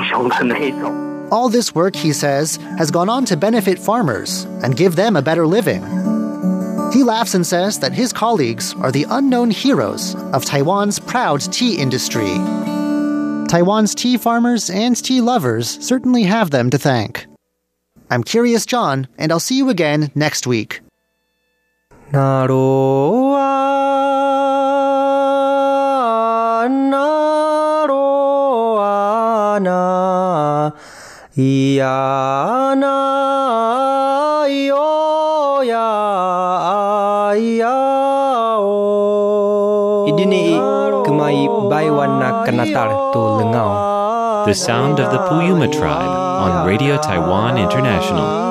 雄的那一种。 All this work, he says, has gone on to benefit farmers and give them a better living. He laughs and says that his colleagues are the unknown heroes of Taiwan's proud tea industry. Taiwan's tea farmers and tea lovers certainly have them to thank. I'm Curious John, and I'll see you again next week. なろあなろあないやないよやいやお Idini kemai baiwana kanatar tu lengau. The sound of the Puyuma tribe on Radio Taiwan International.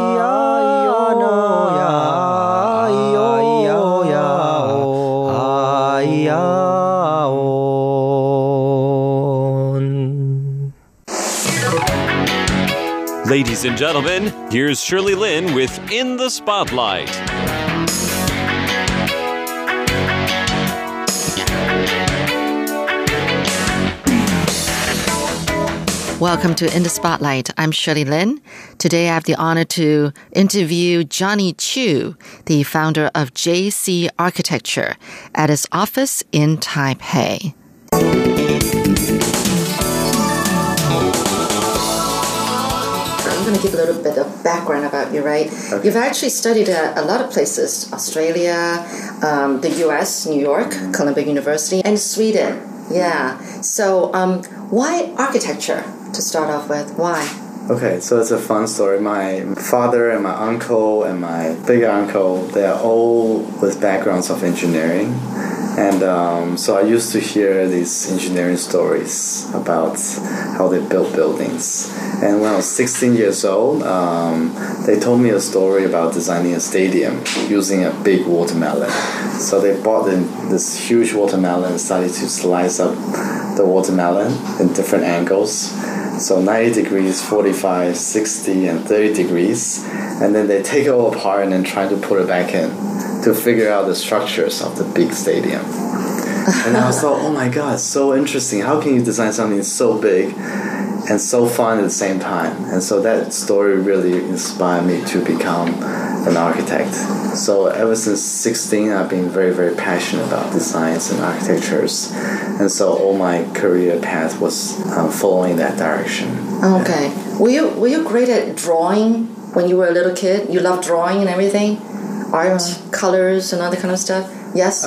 Ladies and gentlemen, here's Shirley Lin with In the Spotlight. Welcome to In the Spotlight. I'm Shirley Lin. Today I have the honor to interview Johnny Chu, the founder of JC Architecture, at his office in Taipei. I'm going to give a little bit of background about you, right? Okay. You've actually studied a lot of places, Australia, the U.S., New York, Columbia University, and Sweden. Yeah. So why architecture to start off with? Why? Okay, so it's a fun story. My father and my uncle and my bigger uncle, they're all with backgrounds of engineering. And so I used to hear these engineering stories about how they built buildings. And when I was 16 years old, they told me a story about designing a stadium using a big watermelon. So they bought this huge watermelon and started to slice up the watermelon in different angles. So 90 degrees, 45, 60, and 30 degrees. And then they take it all apart and then try to put it back in to figure out the structures of the big stadium. And I was like, oh my god, so interesting. How can you design something so big and so fun at the same time? And so that story really inspired me to become an architect. So ever since 16, I've been very, very passionate about designs and architectures. And so all my career path was following that direction. Okay. Yeah. Were you great at drawing when you were a little kid? You loved drawing and everything? Art, colors, and all that kind of stuff? Yes?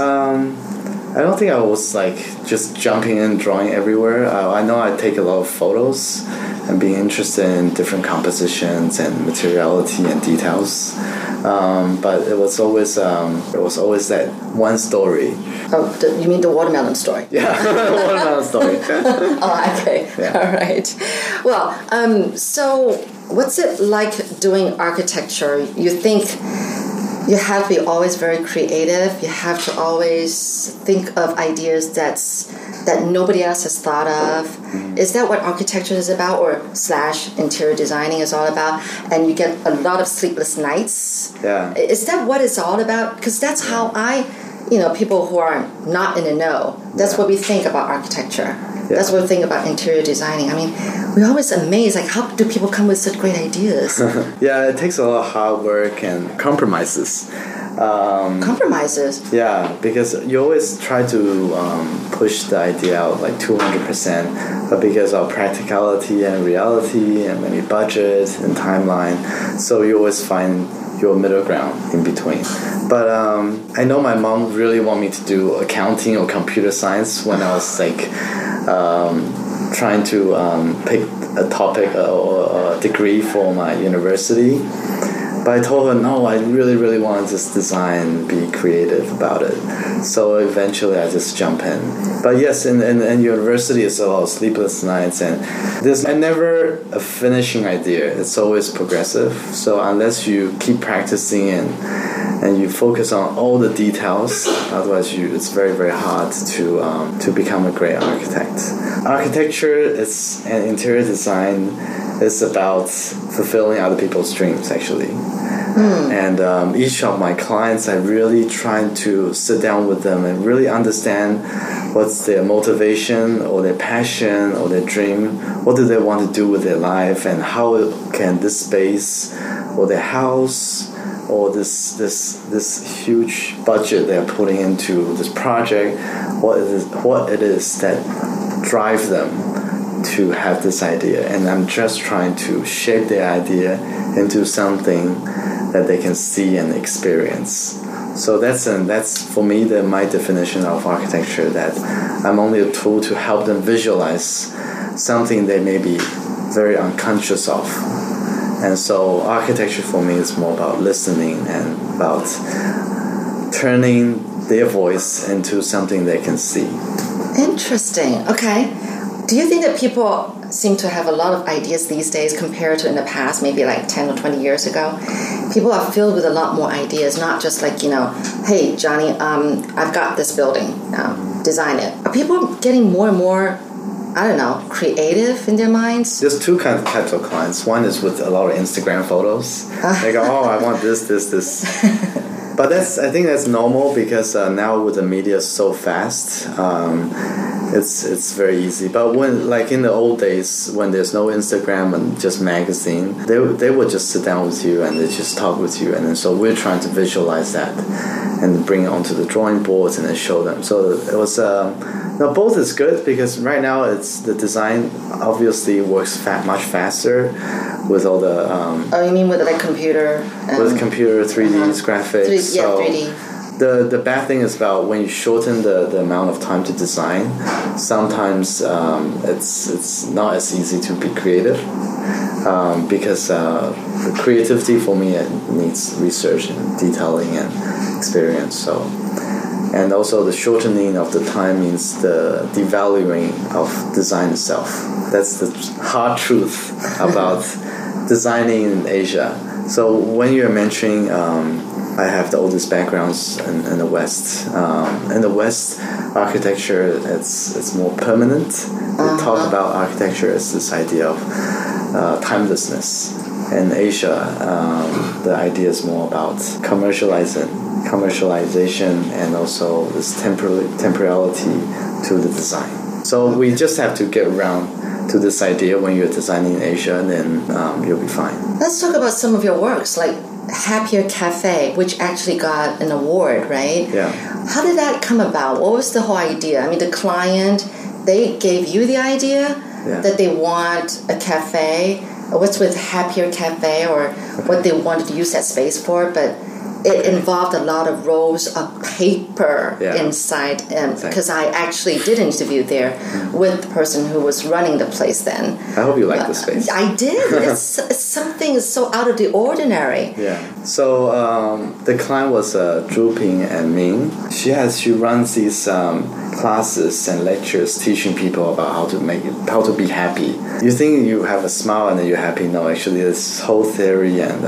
I don't think I was like just jumping in, drawing everywhere. I know I take a lot of photos and being interested in different compositions and materiality and details. But it was always that one story. Oh, you mean the watermelon story? Yeah, the watermelon story. Oh, okay. Yeah. All right. Well, so what's it like doing architecture? You think you have to be always very creative. You have to always think of ideas that nobody else has thought of. Is that what architecture is about, or / interior designing is all about? And you get a lot of sleepless nights. Yeah. Is that what it's all about? Because that's how people who are not in the know, that's what we think about architecture. Yeah. That's what we think about interior designing. I mean, we're always amazed, like, how do people come with such great ideas? Yeah, it takes a lot of hard work and compromises. Compromises? Yeah, because you always try to push the idea out like 200%, but because of practicality and reality and maybe budget and timeline, so you always find your middle ground in between. But I know my mom really wanted me to do accounting or computer science when I was like trying to pick a topic or a degree for my university. But I told her, no, I really, really want to just design, be creative about it. So eventually I just jump in. But yes, in university it's a lot of sleepless nights, and there's never a finishing idea. It's always progressive. So unless you keep practicing and you focus on all the details, otherwise it's very, very hard to become a great architect. Architecture and interior design is about fulfilling other people's dreams, actually. And each of my clients, I really try to sit down with them and really understand what's their motivation or their passion or their dream. What do they want to do with their life, and how can this space or their house or this huge budget they're putting into this project, what it is that drive them to have this idea. And I'm just trying to shape their idea into something that they can see and experience. So that's for me my definition of architecture, that I'm only a tool to help them visualize something they may be very unconscious of. And so architecture for me is more about listening and about turning their voice into something they can see. Interesting. Okay. Do you think that people seem to have a lot of ideas these days compared to in the past, maybe like 10 or 20 years ago? People are filled with a lot more ideas, not just like, hey, Johnny, I've got this building, design it. Are people getting more and more, I don't know, creative in their minds? There's two types of clients. One is with a lot of Instagram photos. They go, I want this. But I think that's normal, because now with the media so fast, it's very easy. But when, like in the old days, when there's no Instagram and just magazine, they would just sit down with you and they just talk with you. And then, so we're trying to visualize that and bring it onto the drawing boards and then show them. So it was both is good, because right now the design obviously works much faster with all the you mean with like computer? With computer 3D graphics. 3D. The bad thing is about when you shorten the amount of time to design, sometimes it's not as easy to be creative, because the creativity for me, it needs research and detailing and experience. So, and also the shortening of the time means the devaluing of design itself. That's the hard truth about designing in Asia. So when you're mentioning I have the oldest backgrounds in the West. In the West, architecture it's more permanent. We talk about architecture as this idea of timelessness. In Asia, the idea is more about commercialization and also this temporality to the design. So we just have to get around to this idea when you're designing in Asia, and then you'll be fine. Let's talk about some of your works, like Happier Cafe, which actually got an award, right? Yeah. How did that come about? What was the whole idea? I mean, the client, they gave you the idea that they want a cafe. What's with Happier Cafe, or what they wanted to use that space for, but it involved a lot of rolls of paper inside, because I actually did an interview there with the person who was running the place then. I hope you like the space. I did. It's something so out of the ordinary. Yeah. So the client was Zhu Ping and Ming. She runs these classes and lectures teaching people about how to be happy. You think you have a smile and then you're happy. No, actually there's whole theory and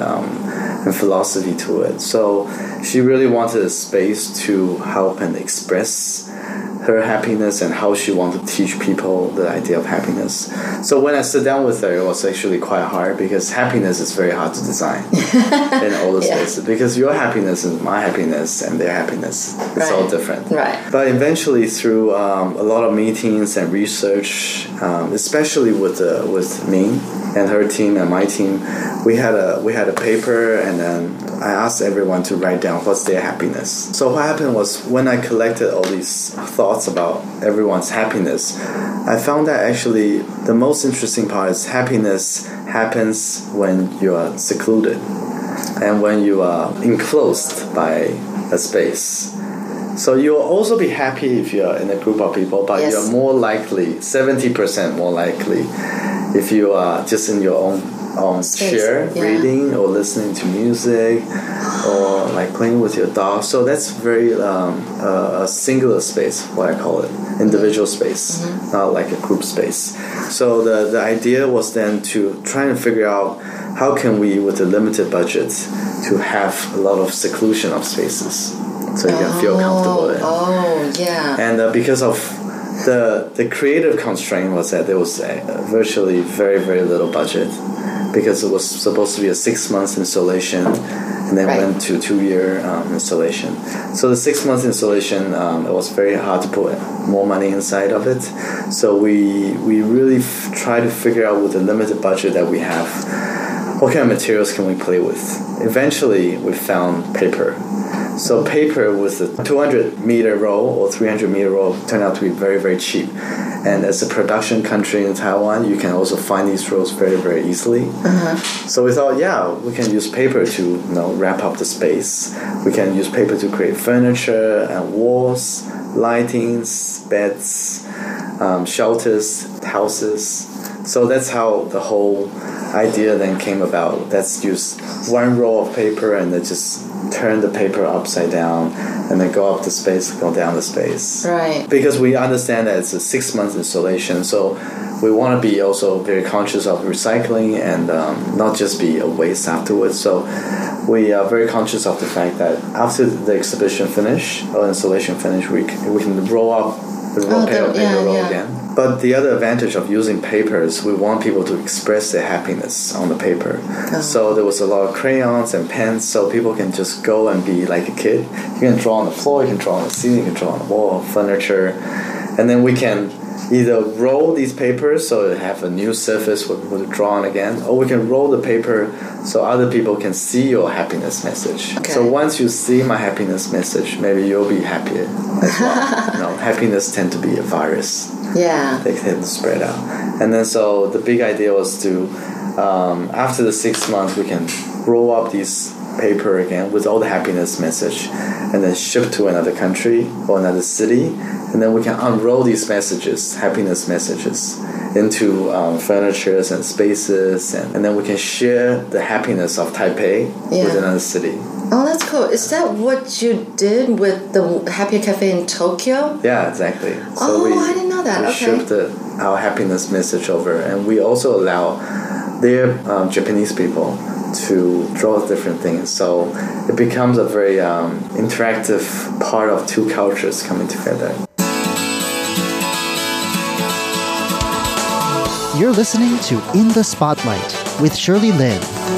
philosophy to it. So she really wanted a space to help and express her happiness and how she wanted to teach people the idea of happiness. So when I sit down with her, it was actually quite hard, because happiness is very hard to design in all the spaces, because your happiness and my happiness and their happiness is all different. Right. But eventually through a lot of meetings and research, especially with Ming and her team and my team, we had a paper, and then I asked everyone to write down what's their happiness. So what happened was, when I collected all these thoughts about everyone's happiness, I found that actually the most interesting part is happiness happens when you are secluded and when you are enclosed by a space. So you'll also be happy if you're in a group of people, but you're more likely, 70% more likely, if you are just in your own chair, reading or listening to music, or like playing with your dog. So that's very a singular space, what I call it, individual space, not like a group space. So the idea was then to try and figure out how can we, with a limited budget, to have a lot of seclusion of spaces, so you can feel comfortable in. And because of the creative constraint was that there was virtually very, very little budget, because it was supposed to be a 6 month installation, and then went to 2-year installation. So the 6 months installation, it was very hard to put more money inside of it. So we really try to figure out with the limited budget that we have, what kind of materials can we play with. Eventually, we found paper. So paper with a 200-meter roll or 300-meter roll turned out to be very, very cheap. And as a production country in Taiwan, you can also find these rolls very, very easily. So we thought, we can use paper to wrap up the space. We can use paper to create furniture and walls, lightings, beds, shelters, houses. So that's how the whole idea then came about. Let's use one roll of paper and then just turn the paper upside down and then go up the space, go down the space. Right. Because we understand that it's a 6 month installation, so we want to be also very conscious of recycling and not just be a waste afterwards. So we are very conscious of the fact that after the exhibition finish or installation finish, we can roll up the paper roll again. But the other advantage of using paper is we want people to express their happiness on the paper. So there was a lot of crayons and pens, so people can just go and be like a kid. You can draw on the floor, you can draw on the ceiling, you can draw on the wall, furniture. And then we can either roll these papers so they have a new surface for people to draw on again, or we can roll the paper so other people can see your happiness message. Okay. So once you see my happiness message, maybe you'll be happier as well. Happiness tends to be a virus. Yeah. They tend to spread out. And then so the big idea was to, after the 6 months, we can roll up these paper again with all the happiness message and then ship to another country or another city, and then we can unroll these messages, happiness messages, into furnitures and spaces, and then we can share the happiness of Taipei with another city. Oh, that's cool. Is that what you did with the Happier Cafe in Tokyo? Yeah, exactly. So I didn't know that. We shipped our happiness message over, and we also allow their Japanese people to draw different things. So it becomes a very interactive part of two cultures coming together. You're listening to In the Spotlight with Shirley Lin.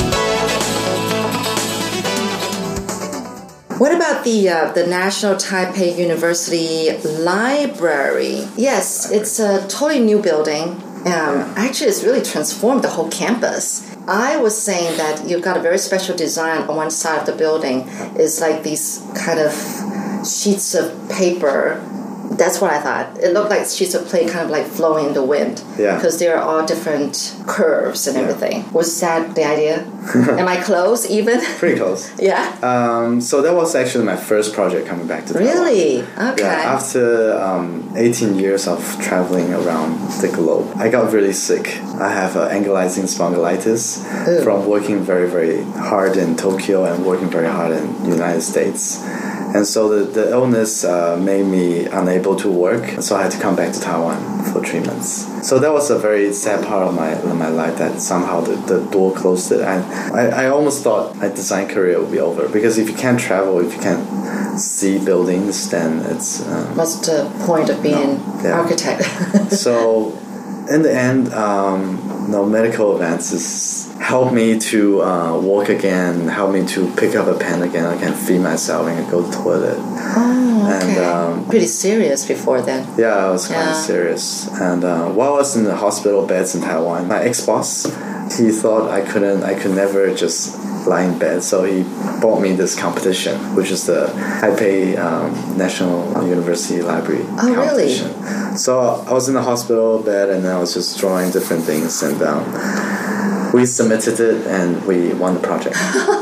What about the National Taipei University Library? Yes, it's a totally new building. Actually, it's really transformed the whole campus. I was saying that you've got a very special design on one side of the building. It's like these kind of sheets of paper. That's what I thought. It looked like sheets of plate kind of like flowing in the wind. Yeah. Because there are all different curves and everything. Was that the idea? Am I close even? Pretty close. Yeah. So that was actually my first project coming back to Taiwan. Really? Okay. Yeah, after 18 years of traveling around the globe, I got really sick. I have ankylosing spondylitis from working very, very hard in Tokyo and working very hard in the United States. And so the illness made me unable to work, so I had to come back to Taiwan for treatments. So that was a very sad part of my life, that somehow the door closed it. And I almost thought my design career would be over, because if you can't travel, if you can't see buildings, then it's... What's the point of being an architect? So in the end, medical advances helped me to walk again, helped me to pick up a pen again. I can feed myself and go to the toilet. Oh, okay. And, pretty serious before then. Yeah, I was kind of serious. And while I was in the hospital beds in Taiwan, my ex-boss, he thought I could never just lie in bed. So he bought me this competition, which is the Taipei National University Library competition. Really? So I was in the hospital bed and I was just drawing different things, and we submitted it and we won the project.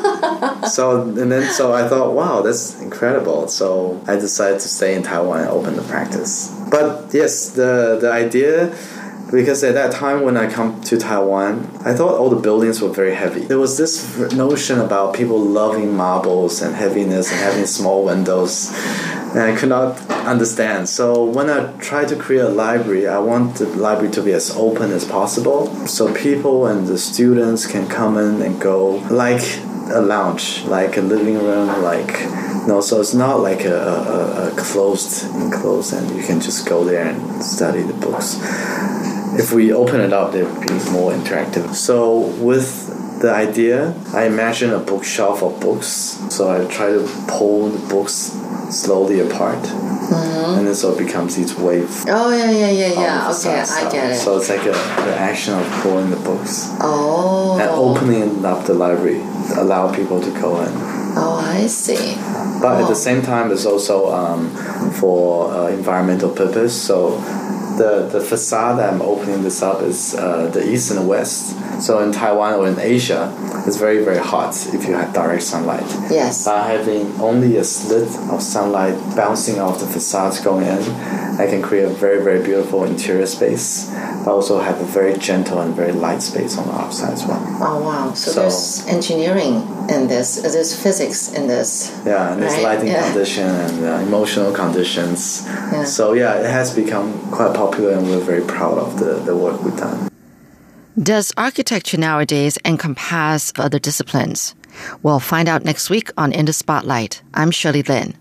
So I thought, wow, that's incredible. So I decided to stay in Taiwan and open the practice. But yes, the idea, because at that time when I come to Taiwan, I thought all the buildings were very heavy. There was this notion about people loving marbles and heaviness and having small windows, and I could not understand. So when I tried to create a library, I want the library to be as open as possible, so people and the students can come in and go like a lounge, like a living room, so it's not like a enclosed, and you can just go there and study the books. If we open it up, it would be more interactive. So with the idea, I imagine a bookshelf of books. So I try to pull the books slowly apart. And then so it becomes these waves. Oh, yeah. Okay, I get it. So it's like the action of pulling the books. Oh. And opening up the library to allow people to go in. Oh, I see. But at the same time, it's also for environmental purpose. So the facade that I'm opening this up is the east and the west. So in Taiwan or in Asia, it's very, very hot if you have direct sunlight. Yes. By having only a slit of sunlight bouncing off the facades going in, I can create a very, very beautiful interior space, but also have a very gentle and very light space on the outside as well. Oh, wow. So there's engineering in this, there's physics in this. Yeah, and there's lighting condition and emotional conditions. Yeah. So yeah, it has become quite popular and we're very proud of the work we've done. Does architecture nowadays encompass other disciplines? We'll find out next week on In the Spotlight. I'm Shirley Lin.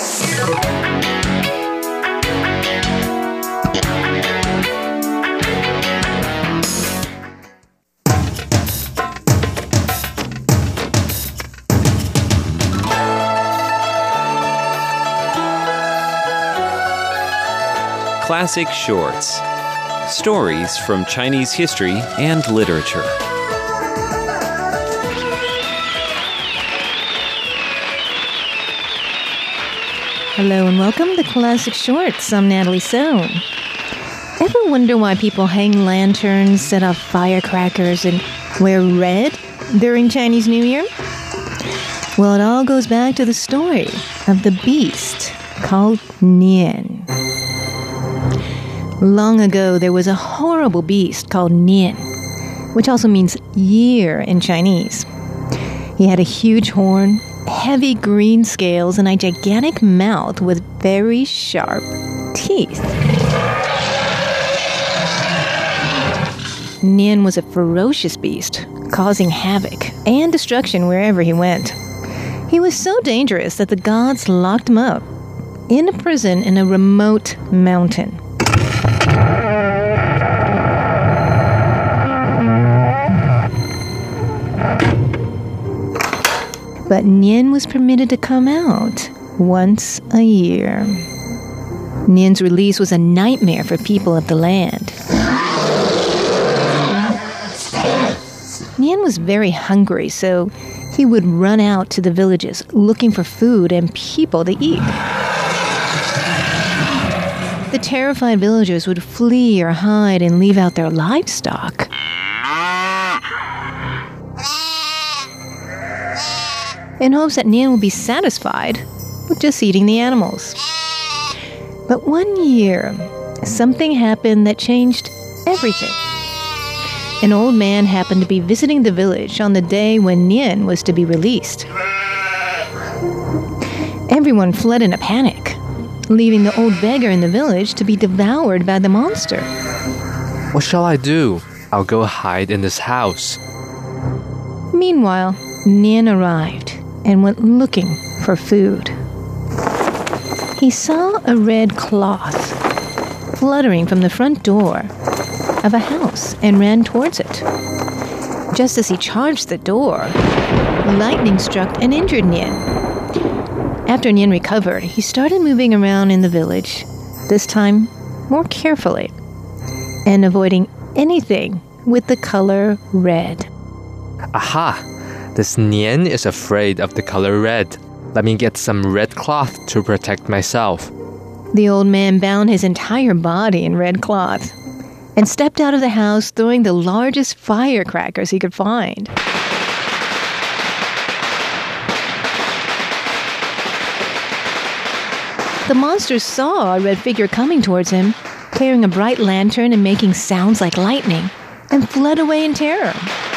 Classic Shorts. Stories from Chinese history and literature. Hello and welcome to Classic Shorts. I'm Natalie Sohn. Ever wonder why people hang lanterns, set off firecrackers, and wear red during Chinese New Year? Well, it all goes back to the story of the beast called Nian. Long ago, there was a horrible beast called Nian, which also means year in Chinese. He had a huge horn, heavy green scales, and a gigantic mouth with very sharp teeth. Nian was a ferocious beast, causing havoc and destruction wherever he went. He was so dangerous that the gods locked him up in a prison in a remote mountain. But Nian was permitted to come out once a year. Nian's release was a nightmare for people of the land. Nian was very hungry, so he would run out to the villages looking for food and people to eat. The terrified villagers would flee or hide and leave out their livestock. In hopes that Nian would be satisfied with just eating the animals. But one year, something happened that changed everything. An old man happened to be visiting the village on the day when Nian was to be released. Everyone fled in a panic, leaving the old beggar in the village to be devoured by the monster. What shall I do? I'll go hide in this house. Meanwhile, Nian arrived and went looking for food. He saw a red cloth fluttering from the front door of a house and ran towards it. Just as he charged the door, lightning struck and injured Nian. After Nian recovered, he started moving around in the village, this time more carefully, and avoiding anything with the color red. Aha! This Nian is afraid of the color red. Let me get some red cloth to protect myself. The old man bound his entire body in red cloth and stepped out of the house throwing the largest firecrackers he could find. The monster saw a red figure coming towards him, carrying a bright lantern and making sounds like lightning, and fled away in terror.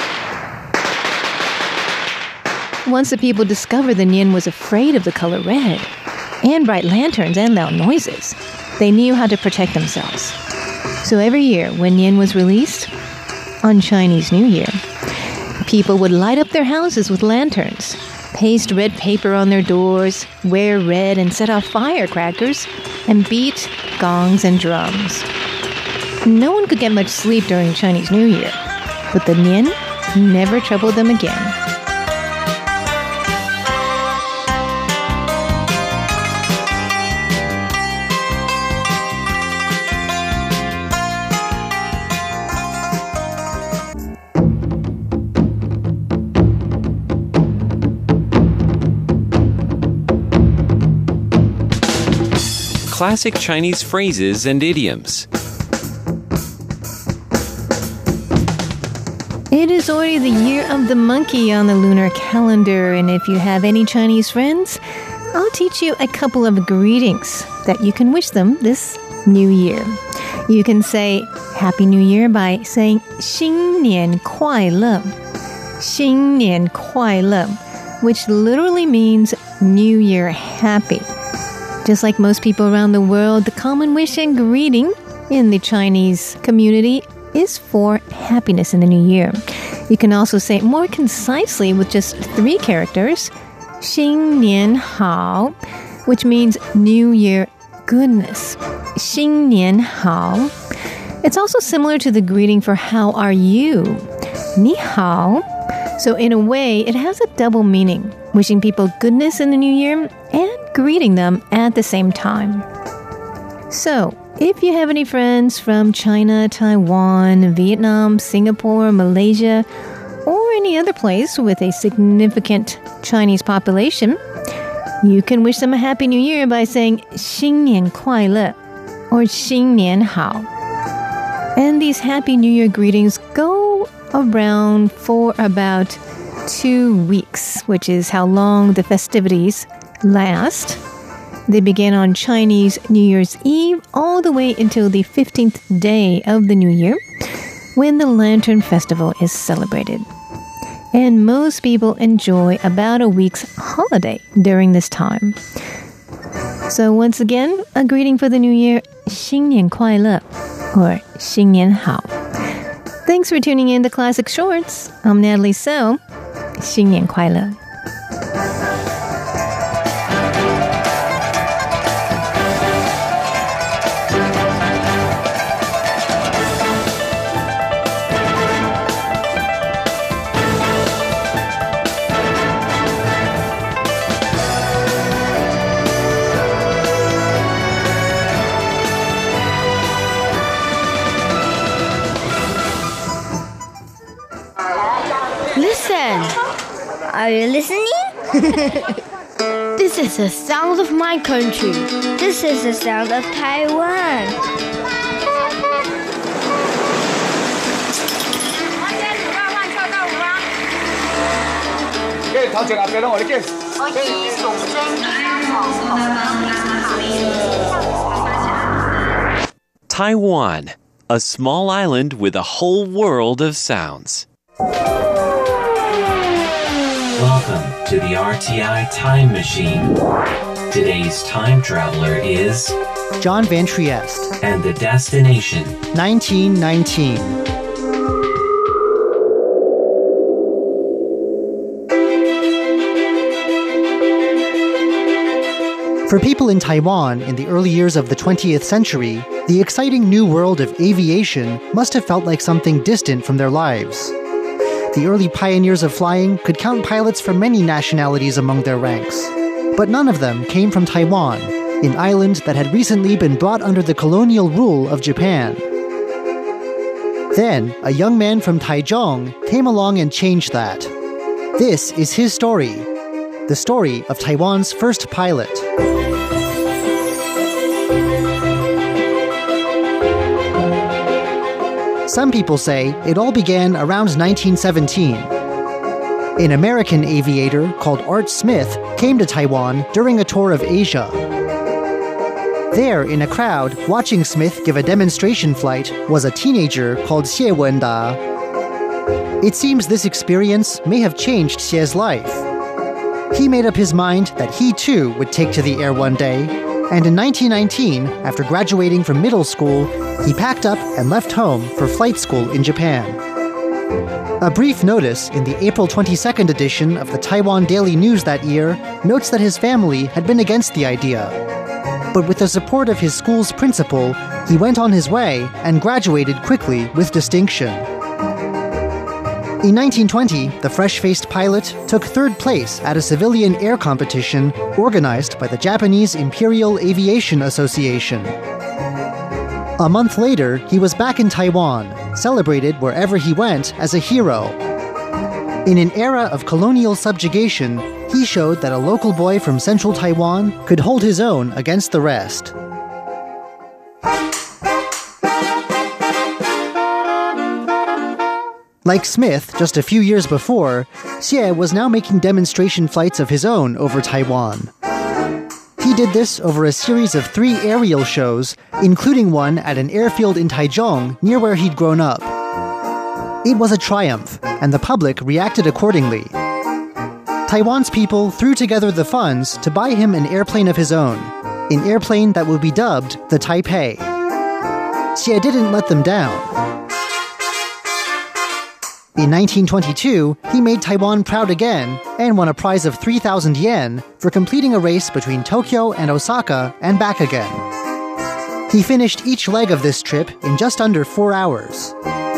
Once the people discovered that Nian was afraid of the color red, and bright lanterns and loud noises, they knew how to protect themselves. So every year when Nian was released, on Chinese New Year, people would light up their houses with lanterns, paste red paper on their doors, wear red and set off firecrackers, and beat gongs and drums. No one could get much sleep during Chinese New Year, but the Nian never trouble them again. Classic Chinese phrases and idioms. It is already the year of the monkey on the lunar calendar, and if you have any Chinese friends, I'll teach you a couple of greetings that you can wish them this new year. You can say Happy New Year by saying 新年快乐, 新年快乐, which literally means New Year happy. Just like most people around the world, the common wish and greeting in the Chinese community is for happiness in the new year. You can also say it more concisely with just 3 characters, 新年好, which means New Year goodness. 新年好. It's also similar to the greeting for how are you? 你好. So in a way, it has a double meaning, wishing people goodness in the new year and greeting them at the same time. So, if you have any friends from China, Taiwan, Vietnam, Singapore, Malaysia, or any other place with a significant Chinese population, you can wish them a Happy New Year by saying 新年快乐 or 新年好. And these Happy New Year greetings go around for about 2 weeks, which is how long the festivities last. They begin on Chinese New Year's Eve all the way until the 15th day of the new year, when the Lantern Festival is celebrated. And most people enjoy about a week's holiday during this time. So once again, a greeting for the new year, 新年快乐 or 新年好. Thanks for tuning in to Classic Shorts. I'm Natalie So. 新年快乐. Listen! Are you listening? This is the sound of my country. This is the sound of Taiwan. Taiwan, a small island with a whole world of sounds. Welcome to the RTI Time Machine. Today's time traveler is John Van Trieste, and the destination 1919. For people in Taiwan in the early years of the 20th century, the exciting new world of aviation must have felt like something distant from their lives. The early pioneers of flying could count pilots from many nationalities among their ranks. But none of them came from Taiwan, an island that had recently been brought under the colonial rule of Japan. Then, a young man from Taichung came along and changed that. This is his story, the story of Taiwan's first pilot. Some people say it all began around 1917. An American aviator called Art Smith came to Taiwan during a tour of Asia. There, in a crowd, watching Smith give a demonstration flight was a teenager called Xie Wenda. It seems this experience may have changed Xie's life. He made up his mind that he too would take to the air one day, and in 1919, after graduating from middle school, he packed up and left home for flight school in Japan. A brief notice in the April 22nd edition of the Taiwan Daily News that year notes that his family had been against the idea. But with the support of his school's principal, he went on his way and graduated quickly with distinction. In 1920, the fresh-faced pilot took third place at a civilian air competition organized by the Japanese Imperial Aviation Association. A month later, he was back in Taiwan, celebrated wherever he went as a hero. In an era of colonial subjugation, he showed that a local boy from central Taiwan could hold his own against the rest. Like Smith just a few years before, Xie was now making demonstration flights of his own over Taiwan. He did this over a series of 3 aerial shows, including one at an airfield in Taichung near where he'd grown up. It was a triumph, and the public reacted accordingly. Taiwan's people threw together the funds to buy him an airplane of his own, an airplane that would be dubbed the Taipei. Xie didn't let them down. In 1922, he made Taiwan proud again and won a prize of 3,000 yen for completing a race between Tokyo and Osaka and back again. He finished each leg of this trip in just under 4 hours.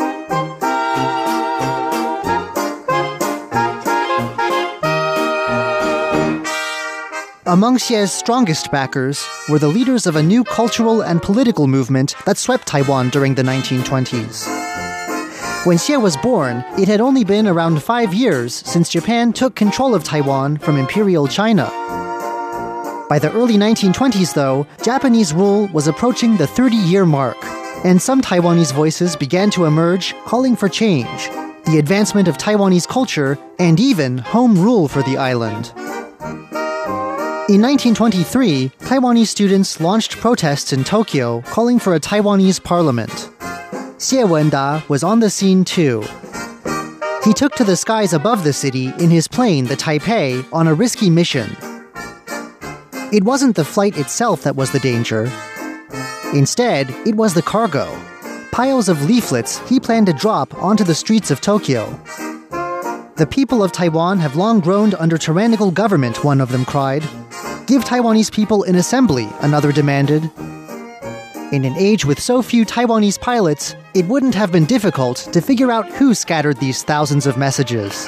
Among Xie's strongest backers were the leaders of a new cultural and political movement that swept Taiwan during the 1920s. When Xie was born, it had only been around 5 years since Japan took control of Taiwan from Imperial China. By the early 1920s, though, Japanese rule was approaching the 30-year mark, and some Taiwanese voices began to emerge calling for change, the advancement of Taiwanese culture, and even home rule for the island. In 1923, Taiwanese students launched protests in Tokyo calling for a Taiwanese parliament. Xie Wenda was on the scene too. He took to the skies above the city in his plane, the Taipei, on a risky mission. It wasn't the flight itself that was the danger. Instead, it was the cargo, piles of leaflets he planned to drop onto the streets of Tokyo. The people of Taiwan have long groaned under tyrannical government, one of them cried. Give Taiwanese people an assembly, another demanded. In an age with so few Taiwanese pilots, it wouldn't have been difficult to figure out who scattered these thousands of messages.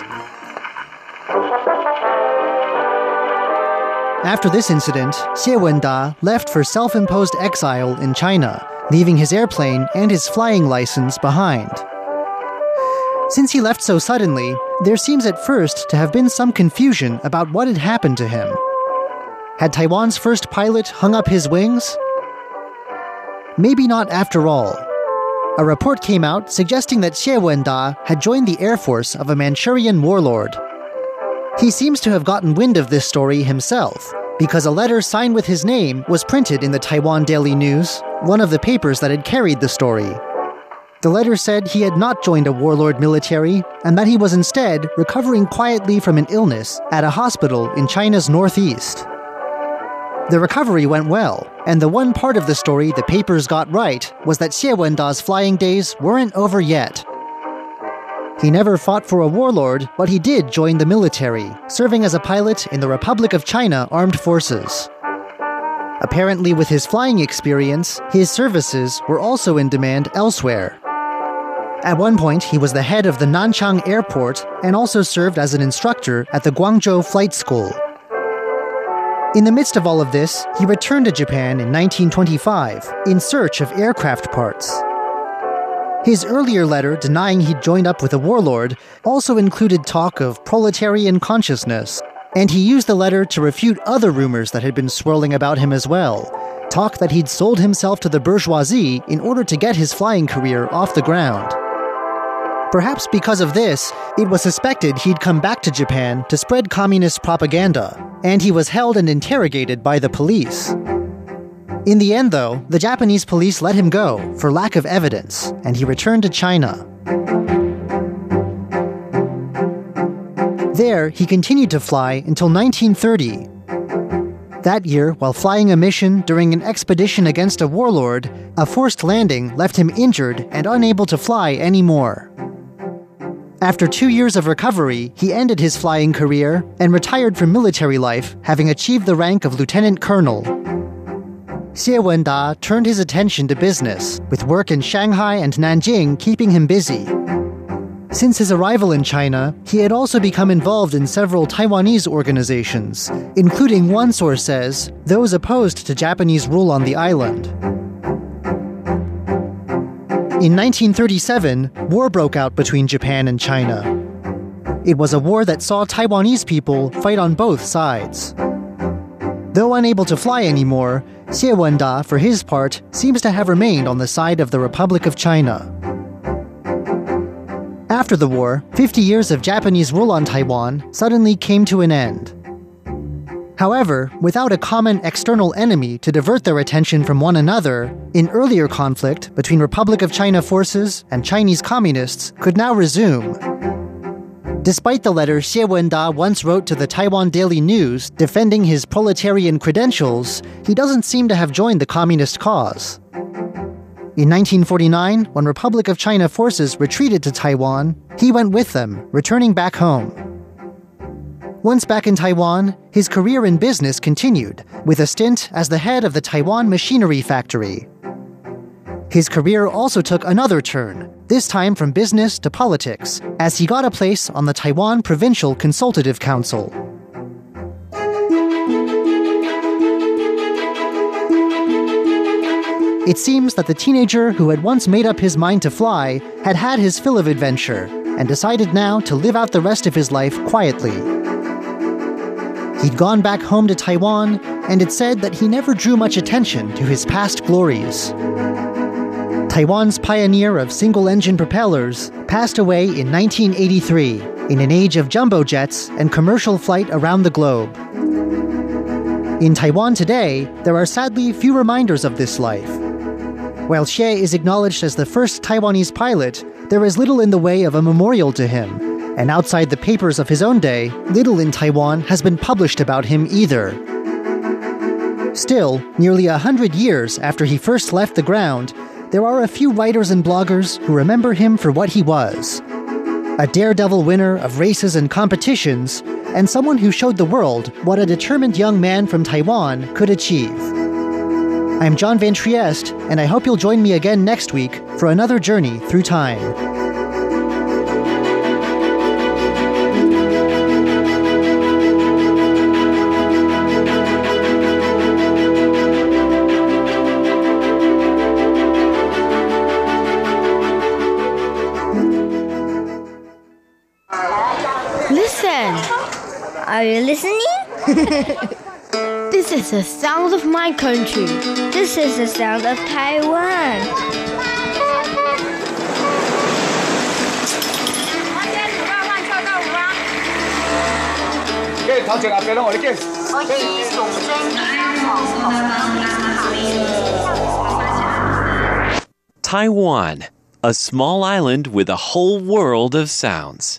After this incident, Xie Wenda left for self-imposed exile in China, leaving his airplane and his flying license behind. Since he left so suddenly, there seems at first to have been some confusion about what had happened to him. Had Taiwan's first pilot hung up his wings? Maybe not after all. A report came out suggesting that Xie Wenda had joined the air force of a Manchurian warlord. He seems to have gotten wind of this story himself, because a letter signed with his name was printed in the Taiwan Daily News, one of the papers that had carried the story. The letter said he had not joined a warlord military, and that he was instead recovering quietly from an illness at a hospital in China's northeast. The recovery went well, and the one part of the story the papers got right was that Xie Wenda's flying days weren't over yet. He never fought for a warlord, but he did join the military, serving as a pilot in the Republic of China Armed Forces. Apparently, with his flying experience, his services were also in demand elsewhere. At one point, he was the head of the Nanchang Airport and also served as an instructor at the Guangzhou Flight School. In the midst of all of this, he returned to Japan in 1925 in search of aircraft parts. His earlier letter denying he'd joined up with a warlord also included talk of proletarian consciousness, and he used the letter to refute other rumors that had been swirling about him as well, talk that he'd sold himself to the bourgeoisie in order to get his flying career off the ground. Perhaps because of this, it was suspected he'd come back to Japan to spread communist propaganda, and he was held and interrogated by the police. In the end, though, the Japanese police let him go for lack of evidence, and he returned to China. There, he continued to fly until 1930. That year, while flying a mission during an expedition against a warlord, a forced landing left him injured and unable to fly anymore. After 2 years of recovery, he ended his flying career and retired from military life, having achieved the rank of lieutenant colonel. Xie Wenda turned his attention to business, with work in Shanghai and Nanjing keeping him busy. Since his arrival in China, he had also become involved in several Taiwanese organizations, including, one source says, those opposed to Japanese rule on the island. In 1937, war broke out between Japan and China. It was a war that saw Taiwanese people fight on both sides. Though unable to fly anymore, Xie Wenda, for his part, seems to have remained on the side of the Republic of China. After the war, 50 years of Japanese rule on Taiwan suddenly came to an end. However, without a common external enemy to divert their attention from one another, an earlier conflict between Republic of China forces and Chinese communists could now resume. Despite the letter Xie Wenda once wrote to the Taiwan Daily News defending his proletarian credentials, he doesn't seem to have joined the communist cause. In 1949, when Republic of China forces retreated to Taiwan, he went with them, returning back home. Once back in Taiwan, his career in business continued, with a stint as the head of the Taiwan Machinery Factory. His career also took another turn, this time from business to politics, as he got a place on the Taiwan Provincial Consultative Council. It seems that the teenager who had once made up his mind to fly had had his fill of adventure and decided now to live out the rest of his life quietly. He'd gone back home to Taiwan, and it said that he never drew much attention to his past glories. Taiwan's pioneer of single-engine propellers passed away in 1983 in an age of jumbo jets and commercial flight around the globe. In Taiwan today, there are sadly few reminders of this life. While Xie is acknowledged as the first Taiwanese pilot, there is little in the way of a memorial to him, and outside the papers of his own day, little in Taiwan has been published about him either. Still, nearly 100 years after he first left the ground, there are a few writers and bloggers who remember him for what he was: a daredevil winner of races and competitions, and someone who showed the world what a determined young man from Taiwan could achieve. I'm John Van Trieste, and I hope you'll join me again next week for another journey through time. Listen! Are you listening? This is the sound of my country. This is the sound of Taiwan. Taiwan, a small island with a whole world of sounds.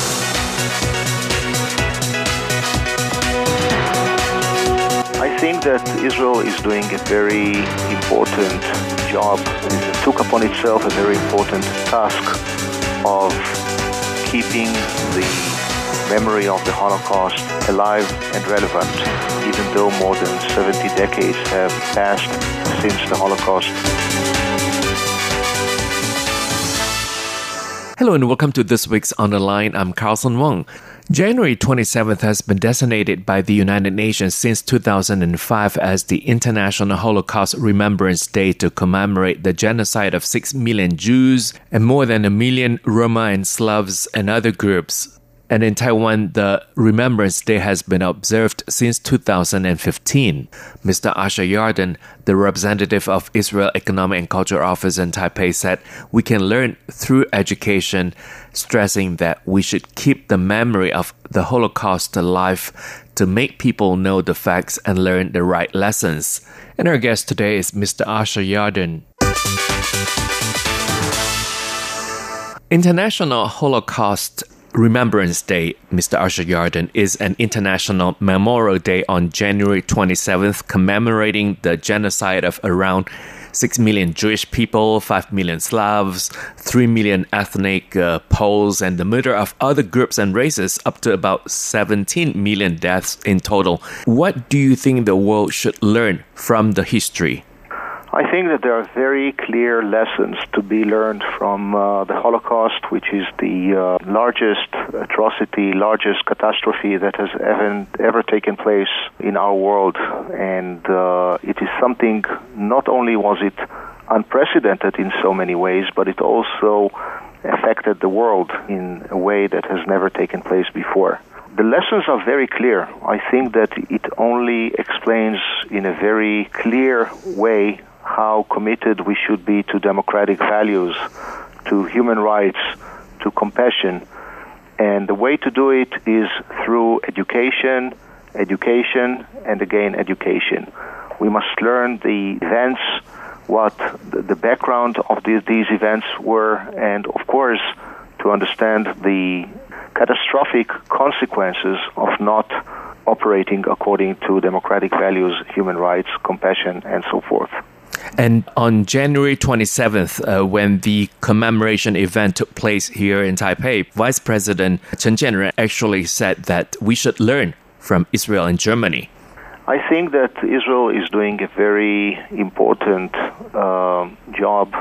I think that Israel is doing a very important job. It took upon itself a very important task of keeping the memory of the Holocaust alive and relevant, even though more than 70 decades have passed since the Holocaust. Hello and welcome to this week's On the Line. I'm Carlson Wong. January 27th has been designated by the United Nations since 2005 as the International Holocaust Remembrance Day to commemorate the genocide of 6 million Jews and more than 1 million Roma and Slavs and other groups. And in Taiwan, the Remembrance Day has been observed since 2015. Mr. Asher Yarden, the representative of Israel Economic and Cultural Office in Taipei, said, "We can learn through education," stressing that we should keep the memory of the Holocaust alive to make people know the facts and learn the right lessons. And our guest today is Mr. Asher Yarden. International Holocaust Remembrance Day, Mr. Asher Yarden, is an international memorial day on January 27th commemorating the genocide of around 6 million Jewish people, 5 million Slavs, 3 million ethnic Poles, and the murder of other groups and races, up to about 17 million deaths in total. What do you think the world should learn from the history? I think that there are very clear lessons to be learned from the Holocaust, which is the largest atrocity, largest catastrophe that has ever taken place in our world. And it is something, not only was it unprecedented in so many ways, but it also affected the world in a way that has never taken place before. The lessons are very clear. I think that it only explains in a very clear way how committed we should be to democratic values, to human rights, to compassion. And the way to do it is through education, and again education. We must learn the events, what the background of these events were, and of course to understand the catastrophic consequences of not operating according to democratic values, human rights, compassion, and so forth. And on January 27th, when the commemoration event took place here in Taipei, Vice President Chen Jianren actually said that we should learn from Israel and Germany. I think that Israel is doing a very important job.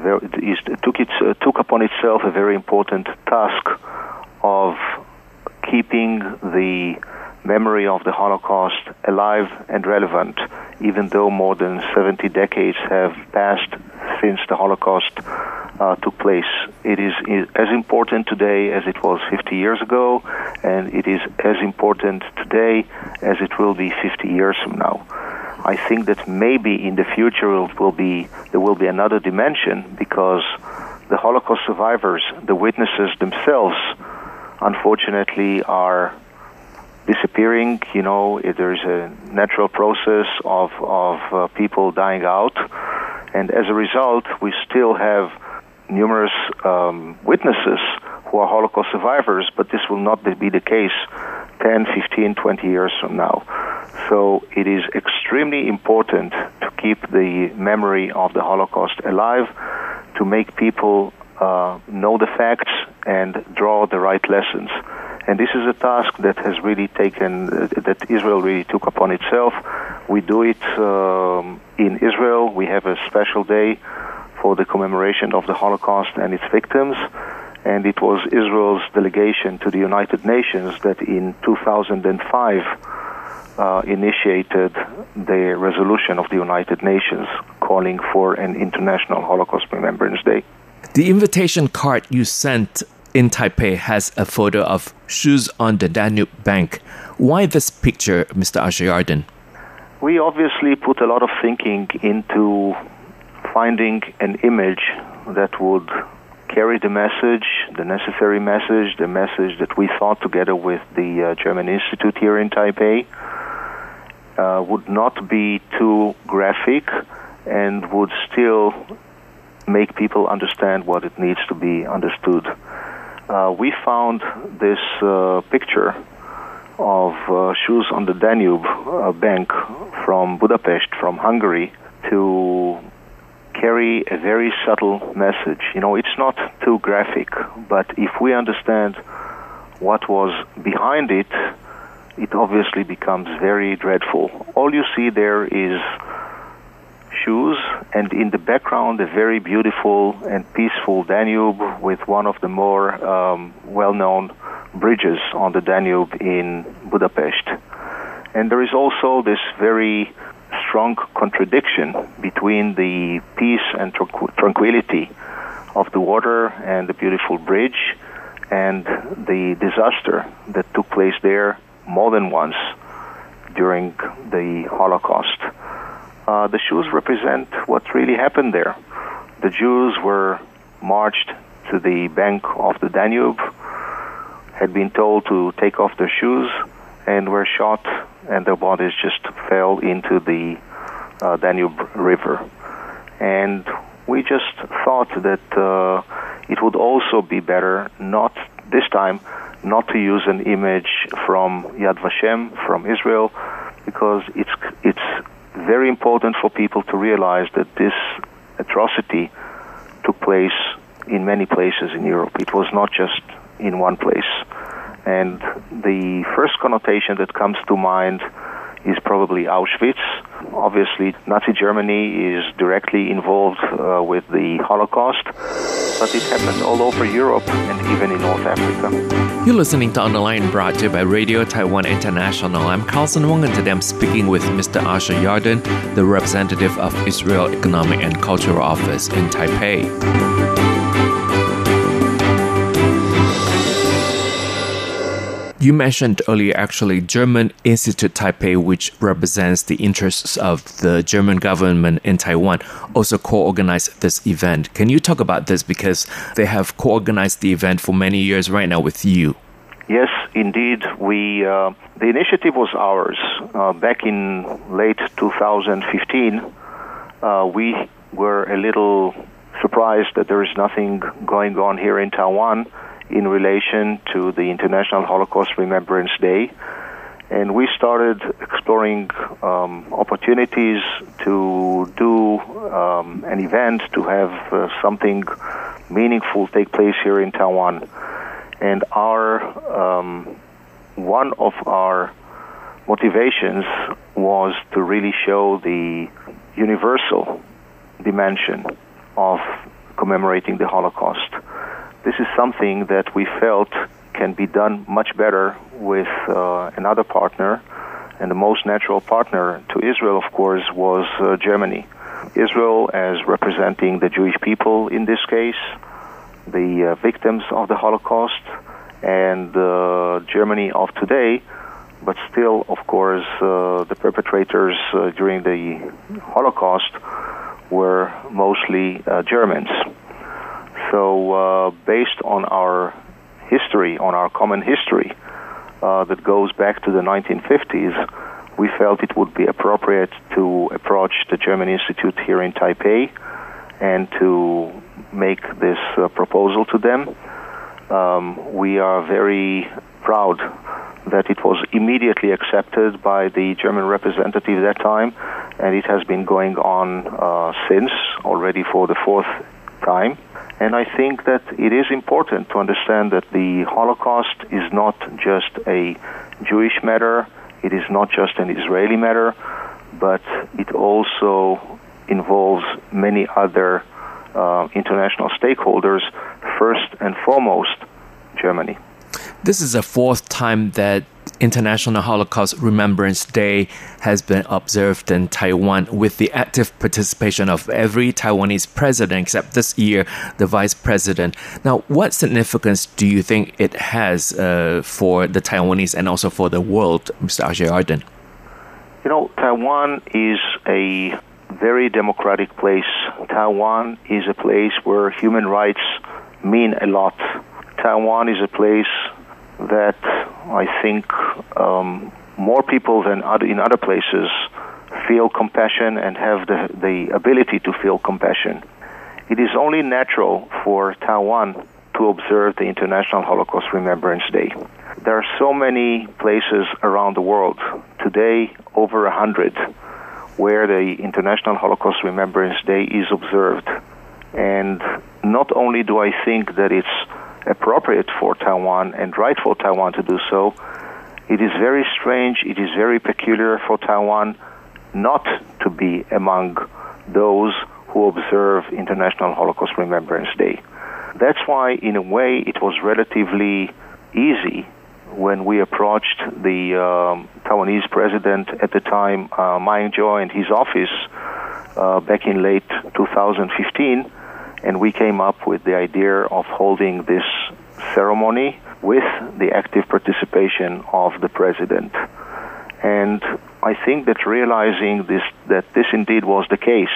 It took upon itself a very important task of keeping the memory of the Holocaust alive and relevant, even though more than 70 decades have passed since the Holocaust took place. It is as important today as it was 50 years ago, and it is as important today as it will be 50 years from now. I think that maybe in the future there will be another dimension, because the Holocaust survivors, the witnesses themselves, unfortunately are disappearing. You know, there's a natural process of people dying out, and as a result, we still have numerous witnesses who are Holocaust survivors, but this will not be the case 10, 15, 20 years from now. So it is extremely important to keep the memory of the Holocaust alive, to make people know the facts and draw the right lessons. And this is a task that has really that Israel really took upon itself. We do it in Israel. We have a special day for the commemoration of the Holocaust and its victims. And it was Israel's delegation to the United Nations that in 2005 initiated the resolution of the United Nations calling for an International Holocaust Remembrance Day. The invitation card you sent in Taipei has a photo of shoes on the Danube bank. Why this picture, Mr. Asher-Yarden? We obviously put a lot of thinking into finding an image that would carry the message, the necessary message, the message that we thought together with the German Institute here in Taipei, would not be too graphic and would still make people understand what it needs to be understood. We found this picture of shoes on the Danube bank from Budapest, from Hungary, to carry a very subtle message. You know, it's not too graphic, but if we understand what was behind it, it obviously becomes very dreadful. All you see there is shoes, and in the background a very beautiful and peaceful Danube with one of the more well-known bridges on the Danube in Budapest. And there is also this very strong contradiction between the peace and tranquility of the water and the beautiful bridge and the disaster that took place there more than once during the Holocaust. The shoes represent what really happened there. The Jews were marched to the bank of the Danube, had been told to take off their shoes, and were shot, and their bodies just fell into the Danube River. And we just thought that it would also be better not to use an image from Yad Vashem, from Israel, because it's very important for people to realize that this atrocity took place in many places in Europe. It was not just in one place. And the first connotation that comes to mind is probably Auschwitz, Obviously, Nazi Germany is directly involved with the Holocaust, but it happened all over Europe and even in North Africa. You're listening to On the Line, brought to you by Radio Taiwan International. I'm Carlson Wong, and today I'm speaking with Mr. Asher Yarden, the representative of Israel Economic and Cultural Office in Taipei. You mentioned earlier, actually, German Institute Taipei, which represents the interests of the German government in Taiwan, also co-organized this event. Can you talk about this? Because they have co-organized the event for many years right now with you. Yes, indeed. The initiative was ours. Back in late 2015, we were a little surprised that there is nothing going on here in Taiwan in relation to the International Holocaust Remembrance Day. And we started exploring opportunities to do an event, to have something meaningful take place here in Taiwan. And one of our motivations was to really show the universal dimension of commemorating the Holocaust. This is something that we felt can be done much better with another partner, and the most natural partner to Israel, of course, was Germany. Israel as representing the Jewish people in this case, the victims of the Holocaust, and Germany of today, but still, of course, the perpetrators during the Holocaust were mostly Germans. So based on our history, on our common history that goes back to the 1950s, we felt it would be appropriate to approach the German Institute here in Taipei and to make this proposal to them. We are very proud that it was immediately accepted by the German representative at that time, and it has been going on since, already for the fourth time. And I think that it is important to understand that the Holocaust is not just a Jewish matter, it is not just an Israeli matter, but it also involves many other international stakeholders, first and foremost, Germany. This is the fourth time that International Holocaust Remembrance Day has been observed in Taiwan with the active participation of every Taiwanese president, except this year, the vice president. Now, what significance do you think it has for the Taiwanese and also for the world, Mr. Asher Yarden? You know, Taiwan is a very democratic place. Taiwan is a place where human rights mean a lot. Taiwan is a place that I think more people than in other places feel compassion and have the ability to feel compassion. It is only natural for Taiwan to observe the International Holocaust Remembrance Day. There are so many places around the world, today over 100, where the International Holocaust Remembrance Day is observed. And not only do I think that it's appropriate for Taiwan and right for Taiwan to do so, it is very strange, it is very peculiar for Taiwan not to be among those who observe International Holocaust Remembrance Day. That's why, in a way, it was relatively easy when we approached the Taiwanese president at the time, Ma Ying-jeou, and his office back in late 2015, and we came up with the idea of holding this ceremony with the active participation of the president. And I think that realizing that this indeed was the case,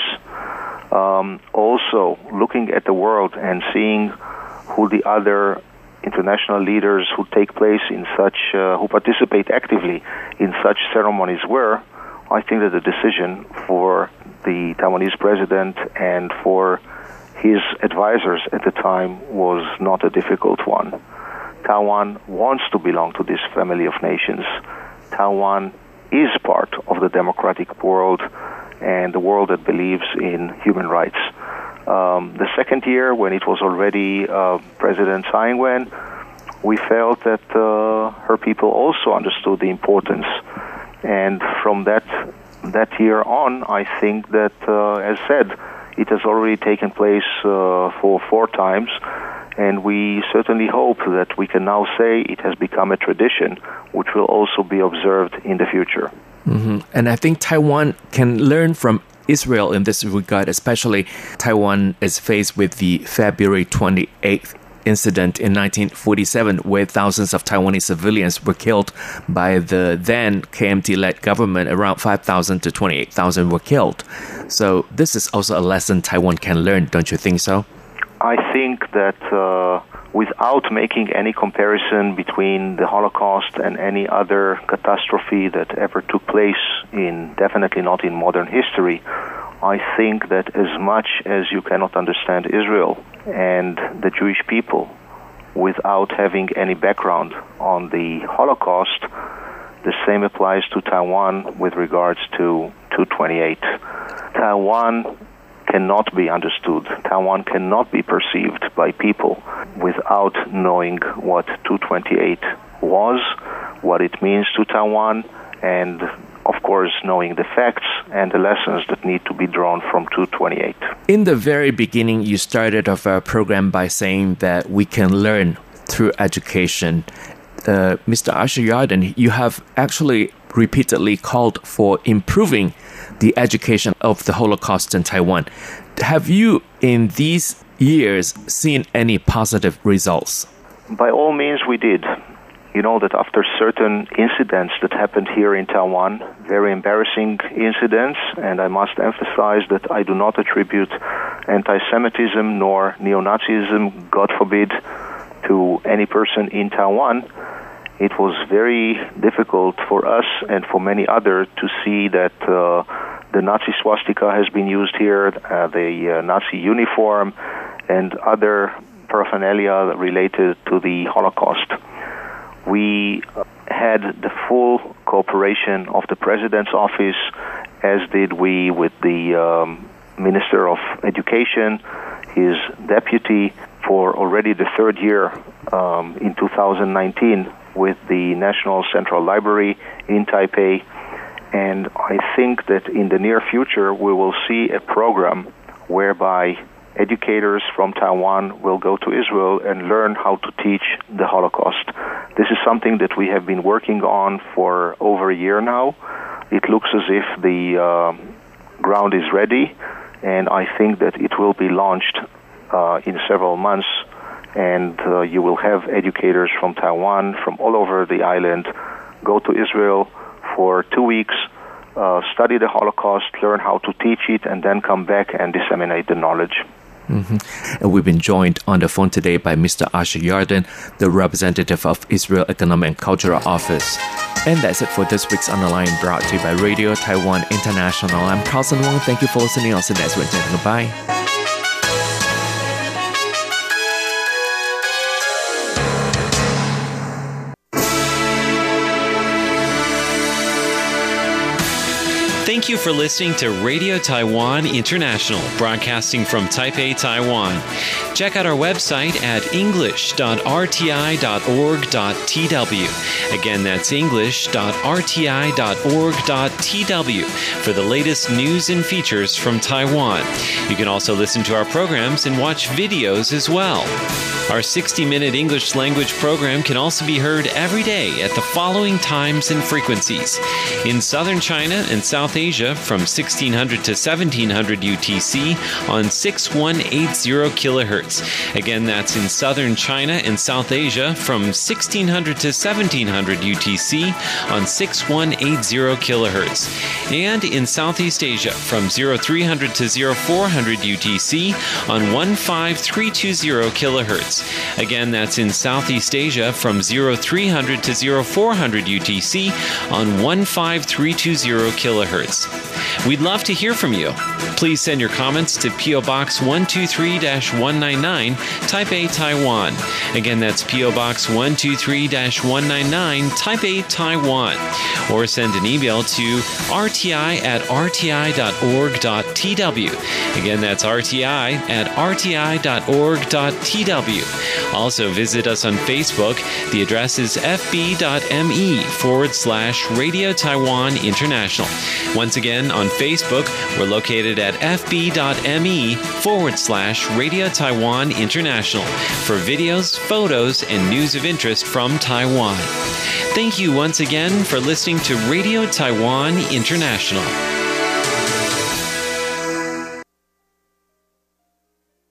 also looking at the world and seeing who the other international leaders who take place in such, who participate actively in such ceremonies were, I think that the decision for the Taiwanese president and for his advisors at the time was not a difficult one. Taiwan wants to belong to this family of nations. Taiwan is part of the democratic world and the world that believes in human rights. The second year, when it was already President Tsai Ing-wen, we felt that her people also understood the importance. And from that that year on, I think that, as said, it has already taken place for 4 times, and we certainly hope that we can now say it has become a tradition, which will also be observed in the future. Mm-hmm. And I think Taiwan can learn from Israel in this regard, especially Taiwan is faced with the February 28th incident in 1947 where thousands of Taiwanese civilians were killed by the then KMT-led government. Around 5,000 to 28,000 were killed. So this is also a lesson Taiwan can learn, don't you think so? I think that without making any comparison between the Holocaust and any other catastrophe that ever took place definitely not in modern history, I think that as much as you cannot understand Israel and the Jewish people without having any background on the Holocaust, the same applies to Taiwan with regards to 228. Taiwan cannot be understood. Taiwan cannot be perceived by people without knowing what 228 was, what it means to Taiwan, and of course knowing the facts and the lessons that need to be drawn from 228. In the very beginning, you started off our program by saying that we can learn through education. Mr. Asher Yarden, you have actually repeatedly called for improving the education of the Holocaust in Taiwan. Have you, in these years, seen any positive results? By all means, we did. You know that after certain incidents that happened here in Taiwan, very embarrassing incidents, and I must emphasize that I do not attribute anti-Semitism nor neo-Nazism, God forbid, to any person in Taiwan. It was very difficult for us and for many others to see that the Nazi swastika has been used here, the Nazi uniform, and other paraphernalia related to the Holocaust. We had the full cooperation of the President's office, as did we with the Minister of Education, his deputy, for already the 3rd year in 2019 with the National Central Library in Taipei. And I think that in the near future we will see a program whereby educators from Taiwan will go to Israel and learn how to teach the Holocaust. This is something that we have been working on for over a year now. It looks as if the ground is ready, and I think that it will be launched in several months, and you will have educators from Taiwan, from all over the island, go to Israel for 2 weeks, study the Holocaust, learn how to teach it, and then come back and disseminate the knowledge. Mm-hmm. And we've been joined on the phone today by Mr. Asher Yarden, the representative of Israel Economic and Cultural Office. And that's it for this week's On the Line, brought to you by Radio Taiwan International. I'm Carlson Wong. Thank you for listening. I'll see you next week. Goodbye. Thank you for listening to Radio Taiwan International, broadcasting from Taipei, Taiwan. Check out our website at english.rti.org.tw. Again, that's english.rti.org.tw for the latest news and features from Taiwan. You can also listen to our programs and watch videos as well. Our 60-minute English language program can also be heard every day at the following times and frequencies. In southern China and South Asia from 1600 to 1700 UTC on 6180 kilohertz. Again, that's in southern China and South Asia from 1600 to 1700 UTC on 6180 kilohertz. And in Southeast Asia from 0300 to 0400 UTC on 15320 kilohertz. Again, that's in Southeast Asia from 0300 to 0400 UTC on 15320 kilohertz. We'd love to hear from you. Please send your comments to P.O. Box 123-199, Taipei, Taiwan. Again, that's P.O. Box 123-199, Taipei, Taiwan. Or send an email to rti@rti.org.tw. Again, that's rti@rti.org.tw. Also, visit us on Facebook. The address is fb.me/Radio Taiwan International. Once again, on Facebook, we're located at fb.me/Radio Taiwan International for videos, photos, and news of interest from Taiwan. Thank you once again for listening to Radio Taiwan International.